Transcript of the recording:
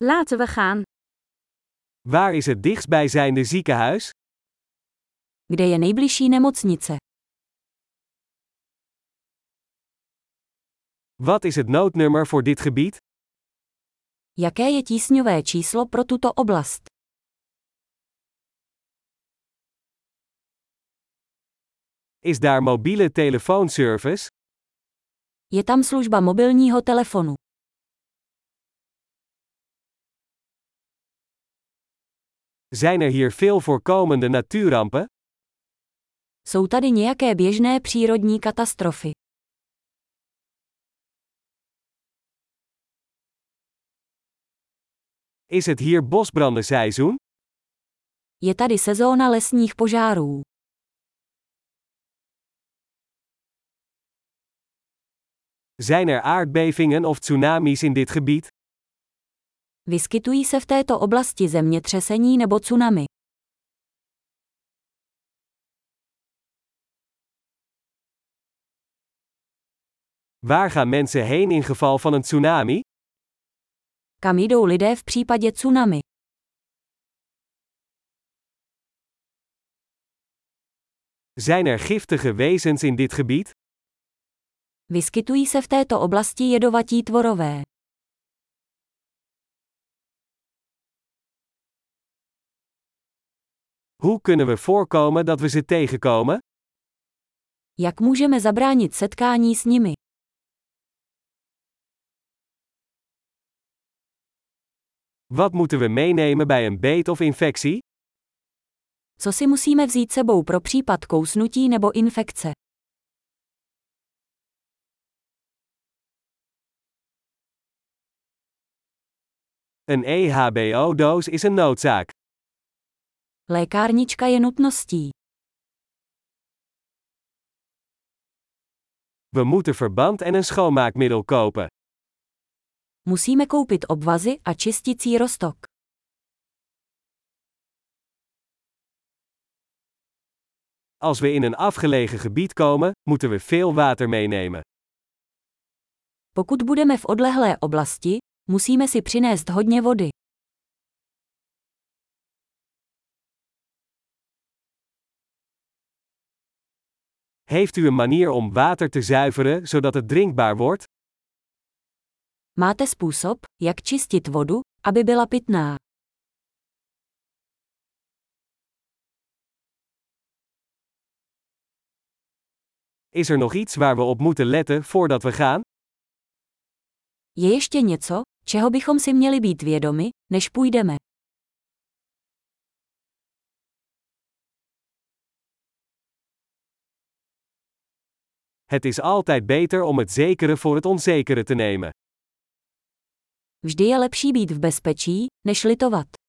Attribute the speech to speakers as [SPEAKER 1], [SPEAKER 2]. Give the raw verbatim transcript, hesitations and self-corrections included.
[SPEAKER 1] Laten we gaan.
[SPEAKER 2] Waar is het dichtstbijzijnde ziekenhuis?
[SPEAKER 1] Kde je nejbližší nemocnice?
[SPEAKER 2] Wat is het noodnummer voor dit gebied?
[SPEAKER 1] Jaké je tísňové číslo pro tuto oblast?
[SPEAKER 2] Is daar mobiele telefoonservice?
[SPEAKER 1] Je tam služba mobilního telefonu.
[SPEAKER 2] Zijn er hier veel voorkomende natuurrampen?
[SPEAKER 1] Jsou tady nějaké běžné přírodní katastrofy?
[SPEAKER 2] Is het hier bosbrandenseizoen?
[SPEAKER 1] Je tady sezóna lesních požárů.
[SPEAKER 2] Zijn er aardbevingen of tsunamis in dit gebied?
[SPEAKER 1] Vyskytují se v této oblasti zemětřesení nebo tsunami?
[SPEAKER 2] Waar gaan mensen heen in geval van een tsunami?
[SPEAKER 1] Kam jdou lidé v případě tsunami?
[SPEAKER 2] Zijn er giftige wezens in dit gebied?
[SPEAKER 1] Vyskytují se v této oblasti jedovatí tvorové.
[SPEAKER 2] Hoe kunnen we voorkomen dat we ze tegenkomen?
[SPEAKER 1] Jak můžeme zabránit setkání s nimi?
[SPEAKER 2] Wat moeten we meenemen bij een beet of infectie?
[SPEAKER 1] Co si musíme vzít sebou pro případ kousnutí nebo infekce?
[SPEAKER 2] Een E H B O-doos is een noodzaak.
[SPEAKER 1] Lékárnička je nutností.
[SPEAKER 2] We moeten verband en een schoonmaakmiddel kopen.
[SPEAKER 1] Musíme koupit obvazy a čisticí roztok.
[SPEAKER 2] Als we in een afgelegen gebied komen, moeten we veel water meenemen.
[SPEAKER 1] Pokud budeme v odlehlé oblasti, musíme si přinést hodně vody.
[SPEAKER 2] Heeft u een manier om water te zuiveren zodat het drinkbaar wordt?
[SPEAKER 1] Máte způsob, jak čistit vodu, aby byla pitná?
[SPEAKER 2] Is er nog iets waar we op moeten letten voordat we gaan?
[SPEAKER 1] Je ještě něco, čeho bychom si měli být vědomi, než půjdeme?
[SPEAKER 2] Het is altijd beter om het zekere voor het onzekere te nemen.
[SPEAKER 1] Vždy je lepší být v bezpečí, než litovat.